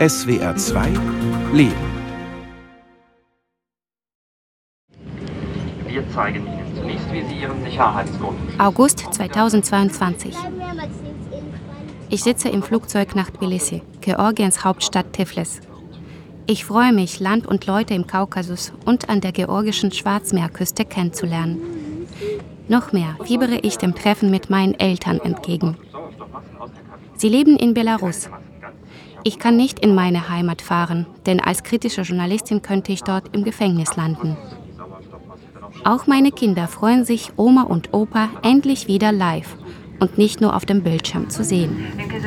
SWR 2 Leben. Wir zeigen Ihnen zunächst, wie Sie Ihren Sicherheitsgurt. August 2022. Ich sitze im Flugzeug nach Tbilisi, Georgiens Hauptstadt Tiflis. Ich freue mich, Land und Leute im Kaukasus und an der georgischen Schwarzmeerküste kennenzulernen. Noch mehr fiebere ich dem Treffen mit meinen Eltern entgegen. Sie leben in Belarus. Ich kann nicht in meine Heimat fahren, denn als kritische Journalistin könnte ich dort im Gefängnis landen. Auch meine Kinder freuen sich, Oma und Opa endlich wieder live und nicht nur auf dem Bildschirm zu sehen.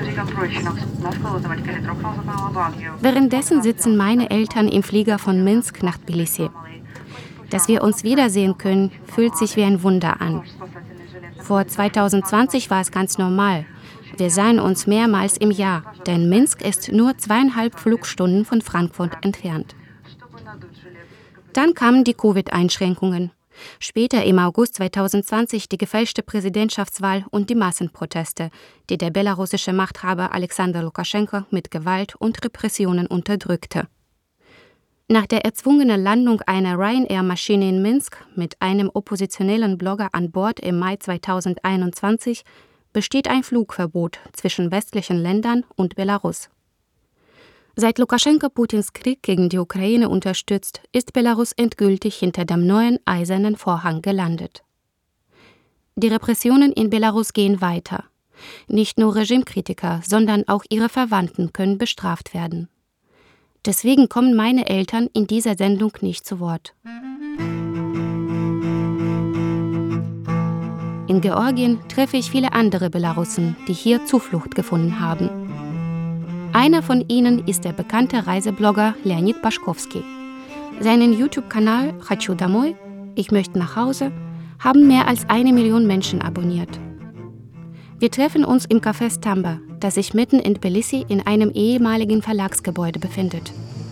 Währenddessen sitzen meine Eltern im Flieger von Minsk nach Tbilisi. Dass wir uns wiedersehen können, fühlt sich wie ein Wunder an. Vor 2020 war es ganz normal. Wir sahen uns mehrmals im Jahr, denn Minsk ist nur 2,5 Flugstunden von Frankfurt entfernt. Dann kamen die Covid-Einschränkungen. Später im August 2020 die gefälschte Präsidentschaftswahl und die Massenproteste, die der belarussische Machthaber Alexander Lukaschenko mit Gewalt und Repressionen unterdrückte. Nach der erzwungenen Landung einer Ryanair-Maschine in Minsk mit einem oppositionellen Blogger an Bord im Mai 2021 besteht ein Flugverbot zwischen westlichen Ländern und Belarus. Seit Lukaschenko Putins Krieg gegen die Ukraine unterstützt, ist Belarus endgültig hinter dem neuen eisernen Vorhang gelandet. Die Repressionen in Belarus gehen weiter. Nicht nur Regimekritiker, sondern auch ihre Verwandten können bestraft werden. Deswegen kommen meine Eltern in dieser Sendung nicht zu Wort. In Georgien treffe ich viele andere Belarussen, die hier Zuflucht gefunden haben. Einer von ihnen ist der bekannte Reiseblogger Leonid Pashkovsky. Seinen YouTube-Kanal Хочу домой, ich möchte nach Hause, haben mehr als 1 Million Menschen abonniert. Wir treffen uns im Café Stamba, das sich mitten in Tbilisi in einem ehemaligen Verlagsgebäude befindet.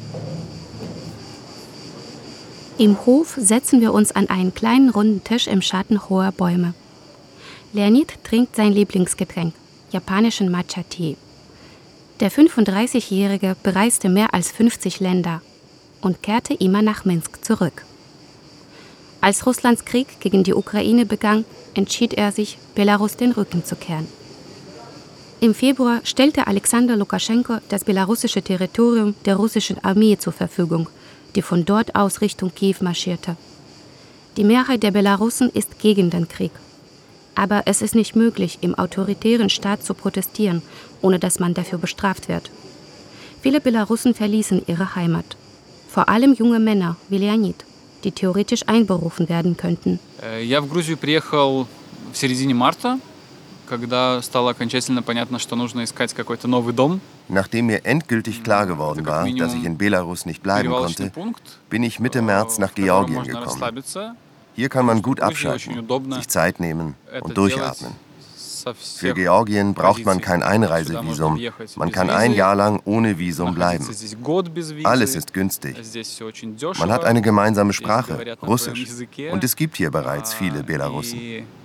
Im Hof setzen wir uns an einen kleinen runden Tisch im Schatten hoher Bäume. Leonid trinkt sein Lieblingsgetränk, japanischen Matcha-Tee. Der 35-Jährige bereiste mehr als 50 Länder und kehrte immer nach Minsk zurück. Als Russlands Krieg gegen die Ukraine begann, entschied er sich, Belarus den Rücken zu kehren. Im Februar stellte Alexander Lukaschenko das belarussische Territorium der russischen Armee zur Verfügung, die von dort aus Richtung Kiew marschierte. Die Mehrheit der Belarussen ist gegen den Krieg. Aber es ist nicht möglich, im autoritären Staat zu protestieren, ohne dass man dafür bestraft wird. Viele Belarussen verließen ihre Heimat. Vor allem junge Männer wie Leonid, die theoretisch einberufen werden könnten. Я в Грузию приехал в середине марта, когда стало окончательно понятно, что нужно искать какой-то новый дом. Nachdem mir endgültig klar geworden war, dass ich in Belarus nicht bleiben konnte, bin ich Mitte März nach Georgien gekommen. Hier kann man gut abschalten, sich Zeit nehmen und durchatmen. Für Georgien braucht man kein Einreisevisum. Man kann 1 Jahr lang ohne Visum bleiben. Alles ist günstig. Man hat eine gemeinsame Sprache, Russisch. Und es gibt hier bereits viele Belarussen.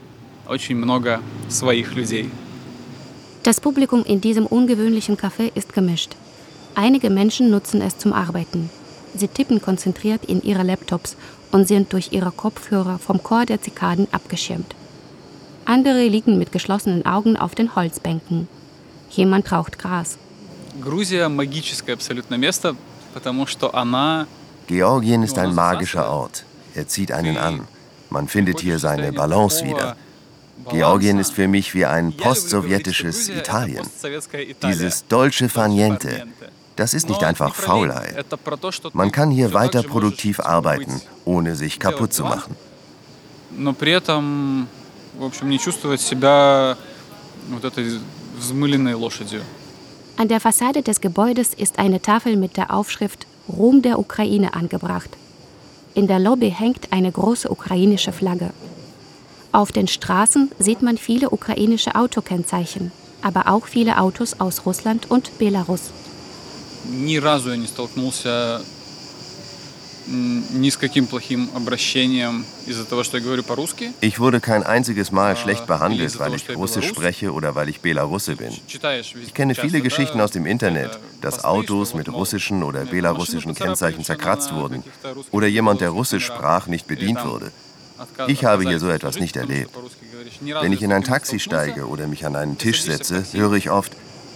Das Publikum in diesem ungewöhnlichen Café ist gemischt. Einige Menschen nutzen es zum Arbeiten. Sie tippen konzentriert in ihre Laptops und sind durch ihre Kopfhörer vom Chor der Zikaden abgeschirmt. Andere liegen mit geschlossenen Augen auf den Holzbänken. Jemand raucht Gras. Georgien ist ein magischer Ort. Er zieht einen an. Man findet hier seine Balance wieder. Georgien ist für mich wie ein postsowjetisches Italien. Dieses dolce far niente. Das ist nicht einfach Faulheit. Man kann hier weiter produktiv arbeiten, ohne sich kaputt zu machen. An der Fassade des Gebäudes ist eine Tafel mit der Aufschrift Ruhm der Ukraine angebracht. In der Lobby hängt eine große ukrainische Flagge. Auf den Straßen sieht man viele ukrainische Autokennzeichen, aber auch viele Autos aus Russland und Belarus. Ни разу я не столкнулся ни с каким плохим обращением из-за того, что я говорю по-русски. Ich wurde kein einziges Mal schlecht behandelt, weil ich Russisch spreche oder weil ich Belarusse bin. Ich kenne viele Geschichten aus dem Internet. dass Autos mit russischen oder belarussischen Kennzeichen zerkratzt wurden oder jemand, der Russisch sprach, nicht bedient wurde. Ich habe hier so etwas nicht erlebt. Wenn ich in ein Taxi steige oder mich an einen Tisch setze, höre ich oft: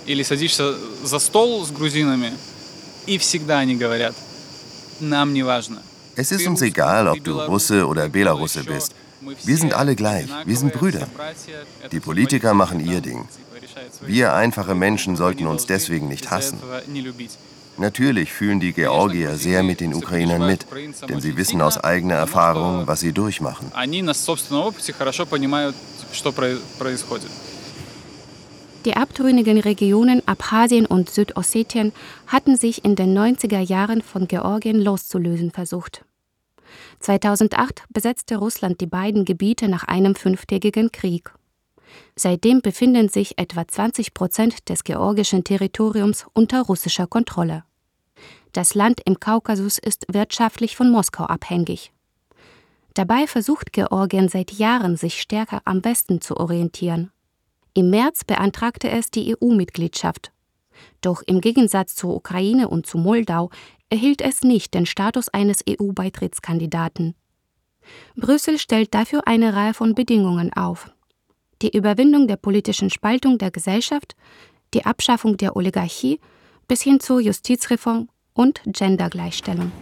Es ist uns egal, ob du Russe oder Belarusse bist. Wir sind alle gleich, wir sind Brüder. Die Politiker machen ihr Ding. Wir einfache Menschen sollten uns deswegen nicht hassen. Natürlich fühlen die Georgier sehr mit den Ukrainern mit, denn sie wissen aus eigener Erfahrung, was sie durchmachen. Die abtrünnigen Regionen Abchasien und Südossetien hatten sich in den 90er Jahren von Georgien loszulösen versucht. 2008 besetzte Russland die beiden Gebiete nach einem 5-tägigen Krieg. Seitdem befinden sich etwa 20% des georgischen Territoriums unter russischer Kontrolle. Das Land im Kaukasus ist wirtschaftlich von Moskau abhängig. Dabei versucht Georgien seit Jahren, sich stärker am Westen zu orientieren. Im März beantragte es die EU-Mitgliedschaft. Doch im Gegensatz zur Ukraine und zu Moldau erhielt es nicht den Status eines EU-Beitrittskandidaten. Brüssel stellt dafür eine Reihe von Bedingungen auf. Die Überwindung der politischen Spaltung der Gesellschaft, die Abschaffung der Oligarchie bis hin zur Justizreform und Gendergleichstellung.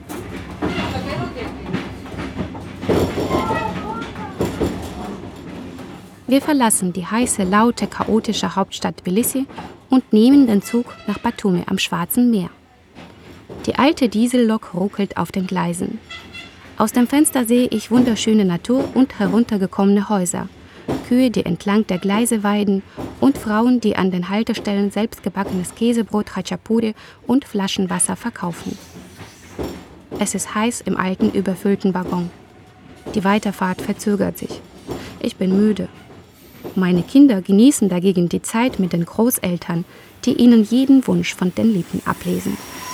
Wir verlassen die heiße, laute, chaotische Hauptstadt Tbilisi und nehmen den Zug nach Batumi am Schwarzen Meer. Die alte Diesellok ruckelt auf den Gleisen. Aus dem Fenster sehe ich wunderschöne Natur und heruntergekommene Häuser, Kühe, die entlang der Gleise weiden und Frauen, die an den Haltestellen selbstgebackenes Käsebrot, Khachapuri und Flaschenwasser verkaufen. Es ist heiß im alten, überfüllten Waggon. Die Weiterfahrt verzögert sich. Ich bin müde. Meine Kinder genießen dagegen die Zeit mit den Großeltern, die ihnen jeden Wunsch von den Lippen ablesen.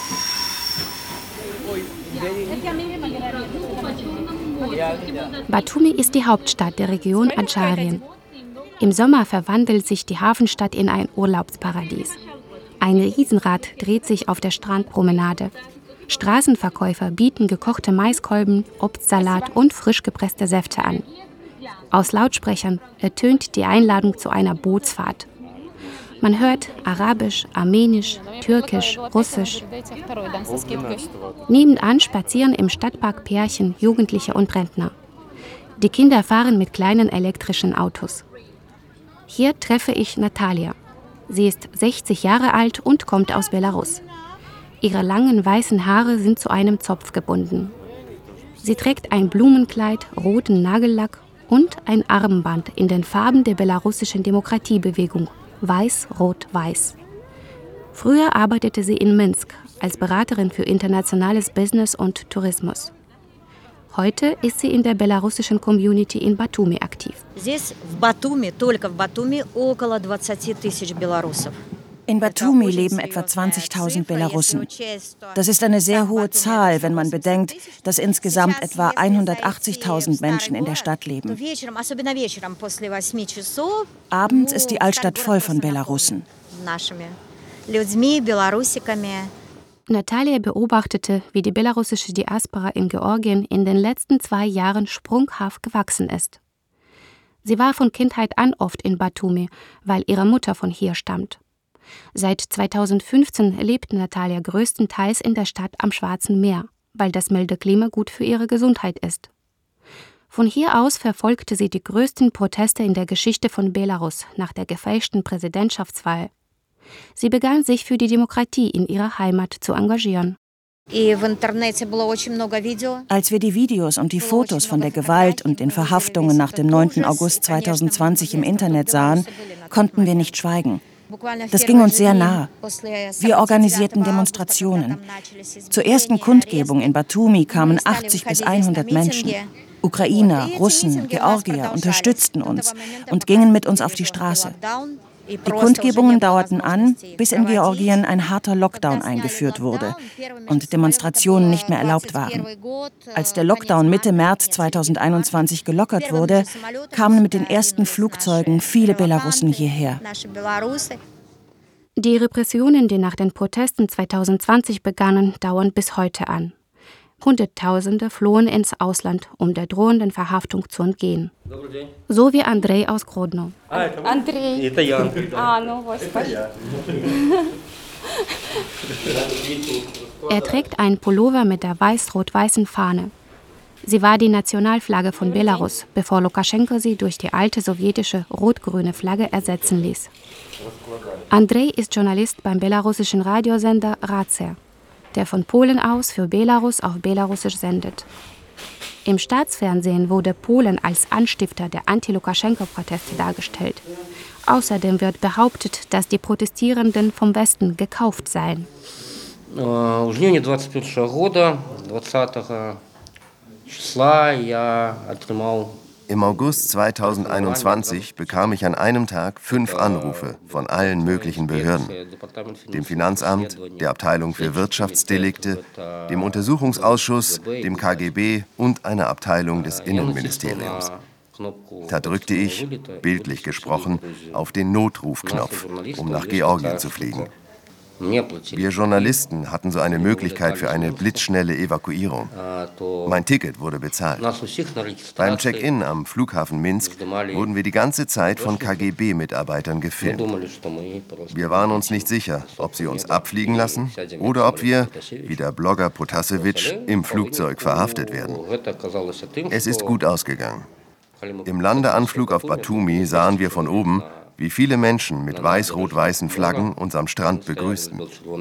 Batumi ist die Hauptstadt der Region Adscharien. Im Sommer verwandelt sich die Hafenstadt in ein Urlaubsparadies. Ein Riesenrad dreht sich auf der Strandpromenade. Straßenverkäufer bieten gekochte Maiskolben, Obstsalat und frisch gepresste Säfte an. Aus Lautsprechern ertönt die Einladung zu einer Bootsfahrt. Man hört Arabisch, Armenisch, Türkisch, Russisch. Nebenan spazieren im Stadtpark Pärchen, Jugendliche und Rentner. Die Kinder fahren mit kleinen elektrischen Autos. Hier treffe ich Natalia. Sie ist 60 Jahre alt und kommt aus Belarus. Ihre langen weißen Haare sind zu einem Zopf gebunden. Sie trägt ein Blumenkleid, roten Nagellack und ein Armband in den Farben der belarussischen Demokratiebewegung. Weiß, Rot, Weiß. Früher arbeitete sie in Minsk als Beraterin für internationales Business und Tourismus. Heute ist sie in der belarussischen Community in Batumi aktiv. In Batumi leben etwa 20.000 Belarussen. Das ist eine sehr hohe Zahl, wenn man bedenkt, dass insgesamt etwa 180.000 Menschen in der Stadt leben. Abends ist die Altstadt voll von Belarussen. Natalia beobachtete, wie die belarussische Diaspora in Georgien in den letzten 2 Jahren sprunghaft gewachsen ist. Sie war von Kindheit an oft in Batumi, weil ihre Mutter von hier stammt. Seit 2015 lebt Natalia größtenteils in der Stadt am Schwarzen Meer, weil das milde Klima gut für ihre Gesundheit ist. Von hier aus verfolgte sie die größten Proteste in der Geschichte von Belarus nach der gefälschten Präsidentschaftswahl. Sie begann, sich für die Demokratie in ihrer Heimat zu engagieren. Als wir die Videos und die Fotos von der Gewalt und den Verhaftungen nach dem 9. August 2020 im Internet sahen, konnten wir nicht schweigen. Das ging uns sehr nah. Wir organisierten Demonstrationen. Zur ersten Kundgebung in Batumi kamen 80 bis 100 Menschen. Ukrainer, Russen, Georgier unterstützten uns und gingen mit uns auf die Straße. Die Kundgebungen dauerten an, bis in Georgien ein harter Lockdown eingeführt wurde und Demonstrationen nicht mehr erlaubt waren. Als der Lockdown Mitte März 2021 gelockert wurde, kamen mit den ersten Flugzeugen viele Belarussen hierher. Die Repressionen, die nach den Protesten 2020 begannen, dauern bis heute an. Hunderttausende flohen ins Ausland, um der drohenden Verhaftung zu entgehen. So wie Andrei aus Grodno. Andrei. Er trägt einen Pullover mit der weiß-rot-weißen Fahne. Sie war die Nationalflagge von Belarus, bevor Lukaschenko sie durch die alte sowjetische rot-grüne Flagge ersetzen ließ. Andrei ist Journalist beim belarussischen Radiosender Racer, der von Polen aus für Belarus auf Belarusisch sendet. Im Staatsfernsehen wurde Polen als Anstifter der Anti-Lukaschenko-Proteste dargestellt. Außerdem wird behauptet, dass die Protestierenden vom Westen gekauft seien. Im August 2021 bekam ich an einem Tag 5 Anrufe von allen möglichen Behörden. Dem Finanzamt, der Abteilung für Wirtschaftsdelikte, dem Untersuchungsausschuss, dem KGB und einer Abteilung des Innenministeriums. Da drückte ich, bildlich gesprochen, auf den Notrufknopf, um nach Georgien zu fliegen. Wir Journalisten hatten so eine Möglichkeit für eine blitzschnelle Evakuierung. Mein Ticket wurde bezahlt. Beim Check-in am Flughafen Minsk wurden wir die ganze Zeit von KGB-Mitarbeitern gefilmt. Wir waren uns nicht sicher, ob sie uns abfliegen lassen oder ob wir, wie der Blogger Potasevich, im Flugzeug verhaftet werden. Es ist gut ausgegangen. Im Landeanflug auf Batumi sahen wir von oben, wie viele Menschen mit weiß-rot-weißen Flaggen uns am Strand begrüßten.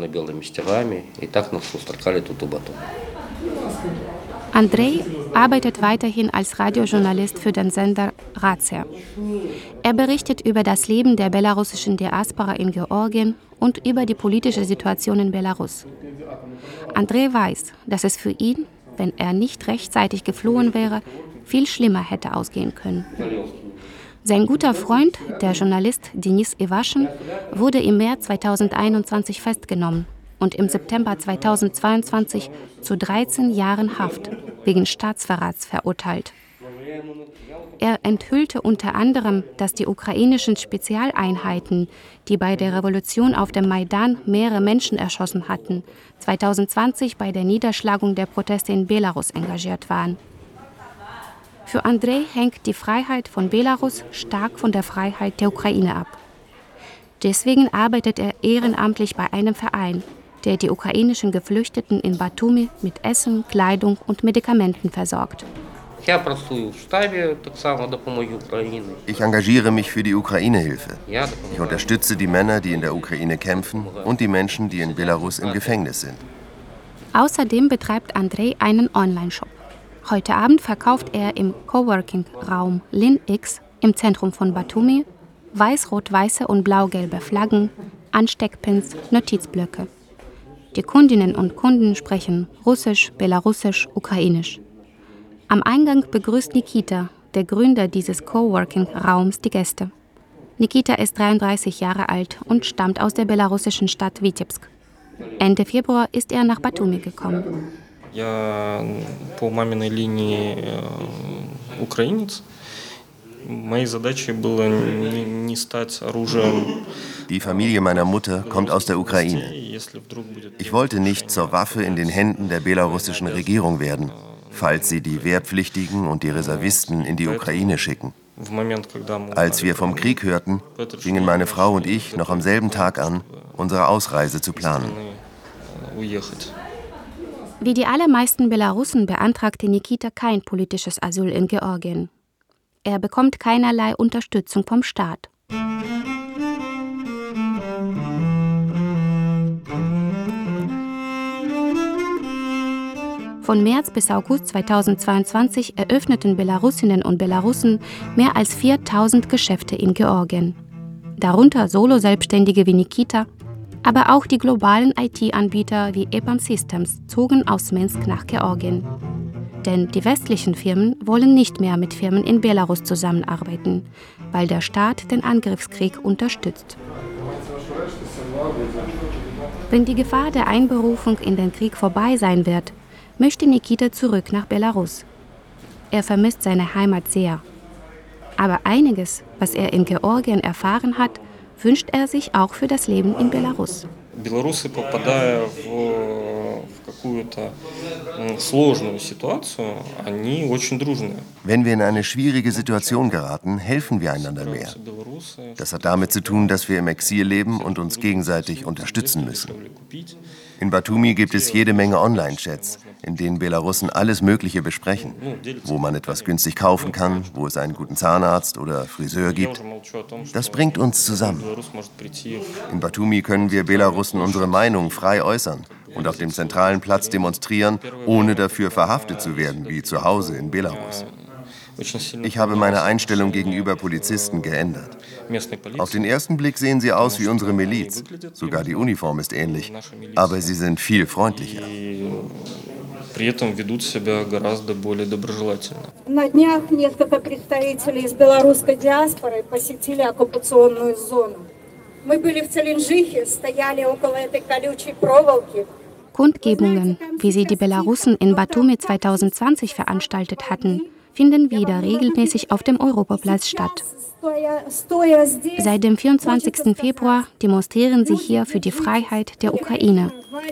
Andrei arbeitet weiterhin als Radiojournalist für den Sender Racer. Er berichtet über das Leben der belarussischen Diaspora in Georgien und über die politische Situation in Belarus. Andrei weiß, dass es für ihn, wenn er nicht rechtzeitig geflohen wäre, viel schlimmer hätte ausgehen können. Sein guter Freund, der Journalist Denis Iwaschin, wurde im März 2021 festgenommen und im September 2022 zu 13 Jahren Haft wegen Staatsverrats verurteilt. Er enthüllte unter anderem, dass die ukrainischen Spezialeinheiten, die bei der Revolution auf dem Maidan mehrere Menschen erschossen hatten, 2020 bei der Niederschlagung der Proteste in Belarus engagiert waren. Für Andrei hängt die Freiheit von Belarus stark von der Freiheit der Ukraine ab. Deswegen arbeitet er ehrenamtlich bei einem Verein, der die ukrainischen Geflüchteten in Batumi mit Essen, Kleidung und Medikamenten versorgt. Ich engagiere mich für die Ukraine-Hilfe. Ich unterstütze die Männer, die in der Ukraine kämpfen, und die Menschen, die in Belarus im Gefängnis sind. Außerdem betreibt Andrei einen Online-Shop. Heute Abend verkauft er im Coworking-Raum LinX im Zentrum von Batumi weiß-rot-weiße und blau-gelbe Flaggen, Ansteckpins, Notizblöcke. Die Kundinnen und Kunden sprechen Russisch, Belarussisch, Ukrainisch. Am Eingang begrüßt Nikita, der Gründer dieses Coworking-Raums, die Gäste. Nikita ist 33 Jahre alt und stammt aus der belarussischen Stadt Vitebsk. Ende Februar ist er nach Batumi gekommen. Я по маминой линии украинец. Моей задачей было не стать оружием. Die Familie meiner Mutter kommt aus der Ukraine. Ich wollte nicht zur Waffe in den Händen der belarussischen Regierung werden, falls sie die Wehrpflichtigen und die Reservisten in die Ukraine schicken. Als wir vom Krieg hörten, fingen meine Frau und ich noch am selben Tag an, unsere Ausreise zu planen. Wie die allermeisten Belarussen beantragte Nikita kein politisches Asyl in Georgien. Er bekommt keinerlei Unterstützung vom Staat. Von März bis August 2022 eröffneten Belarusinnen und Belarussen mehr als 4000 Geschäfte in Georgien. Darunter Solo-Selbstständige wie Nikita, aber auch die globalen IT-Anbieter wie EPAM Systems zogen aus Minsk nach Georgien. Denn die westlichen Firmen wollen nicht mehr mit Firmen in Belarus zusammenarbeiten, weil der Staat den Angriffskrieg unterstützt. Wenn die Gefahr der Einberufung in den Krieg vorbei sein wird, möchte Nikita zurück nach Belarus. Er vermisst seine Heimat sehr. Aber einiges, was er in Georgien erfahren hat, wünscht er sich auch für das Leben in Belarus. Белорусы, попадая в какую-то сложную ситуацию, они очень дружные. Wenn wir in eine schwierige Situation geraten, helfen wir einander mehr. Das hat damit zu tun, dass wir im Exil leben und uns gegenseitig unterstützen müssen. In Batumi gibt es jede Menge Online-Chats, in denen Belarussen alles Mögliche besprechen, wo man etwas günstig kaufen kann, wo es einen guten Zahnarzt oder Friseur gibt. Das bringt uns zusammen. In Batumi können wir Belarussen unsere Meinung frei äußern und auf dem zentralen Platz demonstrieren, ohne dafür verhaftet zu werden, wie zu Hause in Belarus. Ich habe meine Einstellung gegenüber Polizisten geändert. Auf den ersten Blick sehen sie aus wie unsere Miliz. Sogar die Uniform ist ähnlich. Aber sie sind viel freundlicher. На днях несколько представителей из белорусской диаспоры посетили оккупационную зону. Мы были в Целинжихе, стояли около этой колючей проволоки. Kundgebungen, wie sie die Belarussen in Batumi 2020 veranstaltet hatten, finden wieder regelmäßig auf dem Europaplatz statt. Seit dem 24. Februar demonstrieren sie hier für die Freiheit der Ukraine.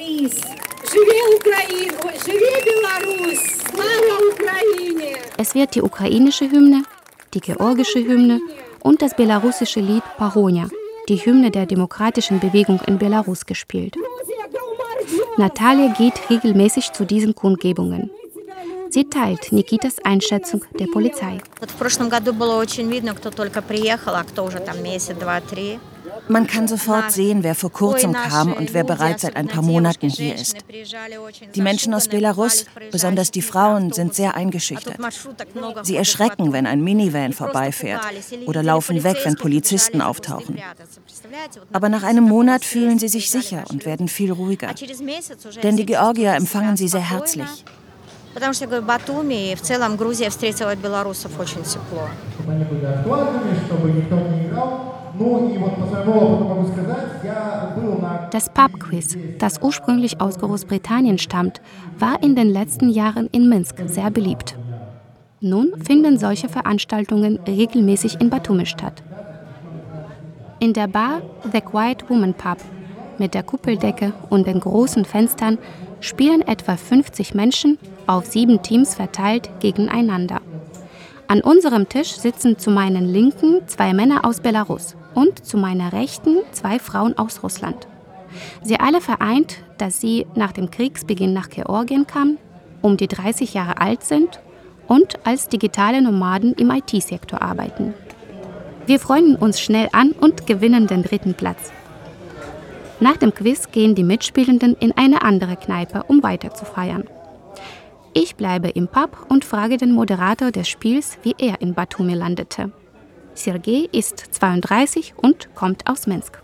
Es wird die ukrainische Hymne, die georgische Hymne und das belarussische Lied Pahonia, die Hymne der demokratischen Bewegung in Belarus, gespielt. Natalia geht regelmäßig zu diesen Kundgebungen. Sie teilt Nikitas Einschätzung der Polizei. Man kann sofort sehen, wer vor kurzem kam und wer bereits seit ein paar Monaten hier ist. Die Menschen aus Belarus, besonders die Frauen, sind sehr eingeschüchtert. Sie erschrecken, wenn ein Minivan vorbeifährt oder laufen weg, wenn Polizisten auftauchen. Aber nach einem Monat fühlen sie sich sicher und werden viel ruhiger. Denn die Georgier empfangen sie sehr herzlich. Потому что, говорю, Батуми и в целом Грузия встретила белорусов очень тепло. Das Pub-Quiz, das ursprünglich aus Großbritannien stammt, war in den letzten Jahren in Minsk sehr beliebt. Nun finden solche Veranstaltungen regelmäßig in Batumi statt. In der Bar The Quiet Woman Pub mit der Kuppeldecke und den großen Fenstern spielen etwa 50 Menschen auf 7 Teams verteilt gegeneinander. An unserem Tisch sitzen zu meinen Linken 2 Männer aus Belarus und zu meiner Rechten 2 Frauen aus Russland. Sie alle vereint, dass sie nach dem Kriegsbeginn nach Georgien kamen, um die 30 Jahre alt sind und als digitale Nomaden im IT-Sektor arbeiten. Wir freunden uns schnell an und gewinnen den 3. Platz. Nach dem Quiz gehen die Mitspielenden in eine andere Kneipe, um weiter zu feiern. Ich bleibe im Pub und frage den Moderator des Spiels, wie er in Batumi landete. Sergei ist 32 und kommt aus Minsk.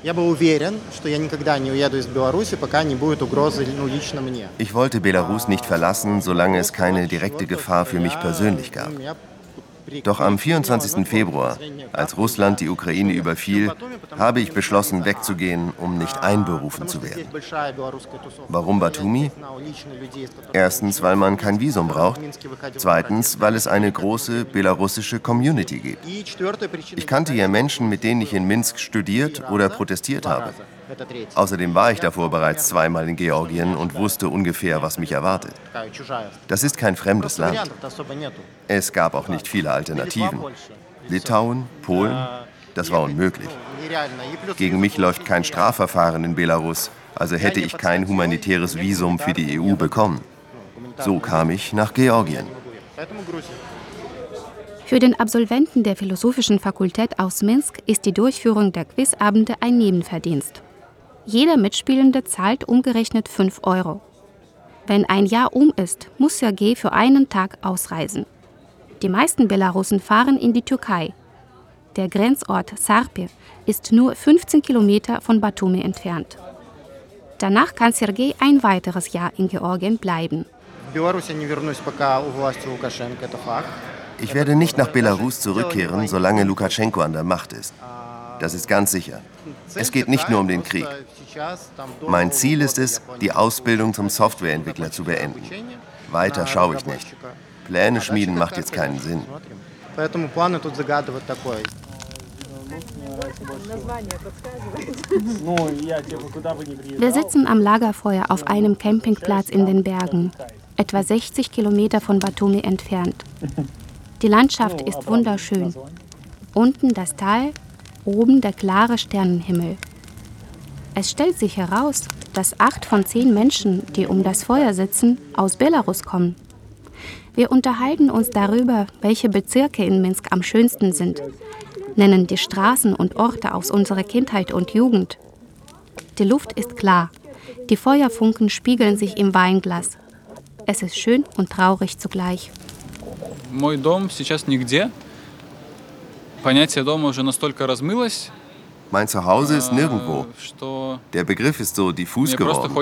Ich wollte Belarus nicht verlassen, solange es keine direkte Gefahr für mich persönlich gab. Doch am 24. Februar, als Russland die Ukraine überfiel, habe ich beschlossen, wegzugehen, um nicht einberufen zu werden. Warum Batumi? Erstens, weil man kein Visum braucht. Zweitens, weil es eine große belarussische Community gibt. Ich kannte ja Menschen, mit denen ich in Minsk studiert oder protestiert habe. Außerdem war ich davor bereits 2-mal in Georgien und wusste ungefähr, was mich erwartet. Das ist kein fremdes Land. Es gab auch nicht viele Alternativen. Litauen, Polen, das war unmöglich. Gegen mich läuft kein Strafverfahren in Belarus, also hätte ich kein humanitäres Visum für die EU bekommen. So kam ich nach Georgien. Für den Absolventen der Philosophischen Fakultät aus Minsk ist die Durchführung der Quizabende ein Nebenverdienst. Jeder Mitspielende zahlt umgerechnet 5 €. Wenn ein Jahr ist, muss Sergei für einen Tag ausreisen. Die meisten Belarussen fahren in die Türkei. Der Grenzort Sarpi ist nur 15 Kilometer von Batumi entfernt. Danach kann Sergei ein weiteres Jahr in Georgien bleiben. Ich werde nicht nach Belarus zurückkehren, solange Lukaschenko an der Macht ist. Das ist ganz sicher. Es geht nicht nur um den Krieg. Mein Ziel ist es, die Ausbildung zum Softwareentwickler zu beenden. Weiter schaue ich nicht. Pläne schmieden macht jetzt keinen Sinn. Wir sitzen am Lagerfeuer auf einem Campingplatz in den Bergen, etwa 60 Kilometer von Batumi entfernt. Die Landschaft ist wunderschön. Unten das Tal, oben der klare Sternenhimmel. Es stellt sich heraus, dass 8 von 10 Menschen, die um das Feuer sitzen, aus Belarus kommen. Wir unterhalten uns darüber, welche Bezirke in Minsk am schönsten sind, nennen die Straßen und Orte aus unserer Kindheit und Jugend. Die Luft ist klar, die Feuerfunken spiegeln sich im Weinglas. Es ist schön und traurig zugleich. Мой дом сейчас нигде. Понятие дома уже настолько размылось. Mein Zuhause ist nirgendwo. Der Begriff ist so diffus geworden.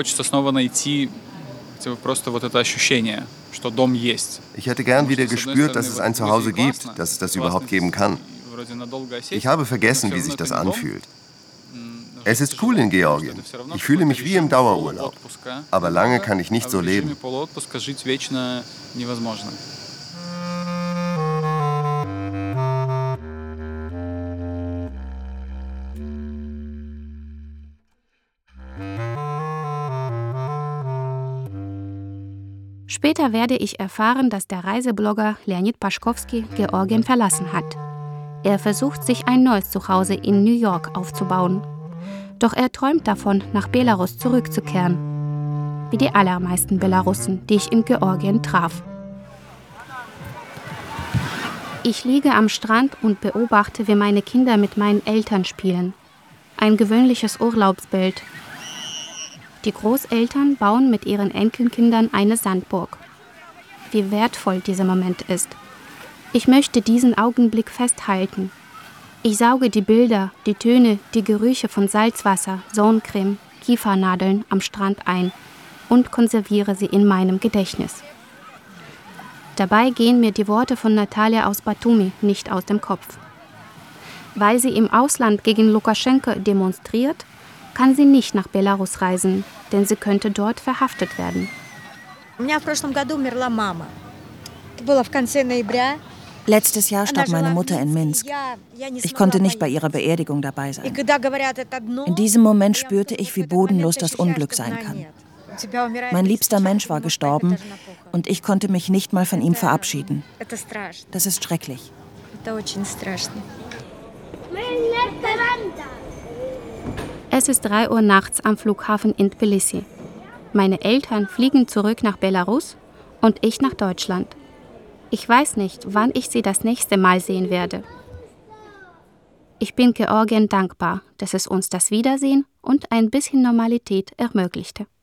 Ich hätte gern wieder gespürt, dass es ein Zuhause gibt, dass es das überhaupt geben kann. Ich habe vergessen, wie sich das anfühlt. Es ist cool in Georgien. Ich fühle mich wie im Dauerurlaub. Aber lange kann ich nicht so leben. Später werde ich erfahren, dass der Reiseblogger Leonid Paschkowski Georgien verlassen hat. Er versucht, sich ein neues Zuhause in New York aufzubauen. Doch er träumt davon, nach Belarus zurückzukehren. Wie die allermeisten Belarussen, die ich in Georgien traf. Ich liege am Strand und beobachte, wie meine Kinder mit meinen Eltern spielen. Ein gewöhnliches Urlaubsbild. Die Großeltern bauen mit ihren Enkelkindern eine Sandburg. Wie wertvoll dieser Moment ist. Ich möchte diesen Augenblick festhalten. Ich sauge die Bilder, die Töne, die Gerüche von Salzwasser, Sonnencreme, Kiefernadeln am Strand ein und konserviere sie in meinem Gedächtnis. Dabei gehen mir die Worte von Natalia aus Batumi nicht aus dem Kopf. Weil sie im Ausland gegen Lukaschenko demonstriert, kann sie nicht nach Belarus reisen, denn sie könnte dort verhaftet werden. Letztes Jahr starb meine Mutter in Minsk. Ich konnte nicht bei ihrer Beerdigung dabei sein. In diesem Moment spürte ich, wie bodenlos das Unglück sein kann. Mein liebster Mensch war gestorben und ich konnte mich nicht mal von ihm verabschieden. Das ist schrecklich. Es ist 3 Uhr nachts am Flughafen in Tbilisi. Meine Eltern fliegen zurück nach Belarus und ich nach Deutschland. Ich weiß nicht, wann ich sie das nächste Mal sehen werde. Ich bin Georgien dankbar, dass es uns das Wiedersehen und ein bisschen Normalität ermöglichte.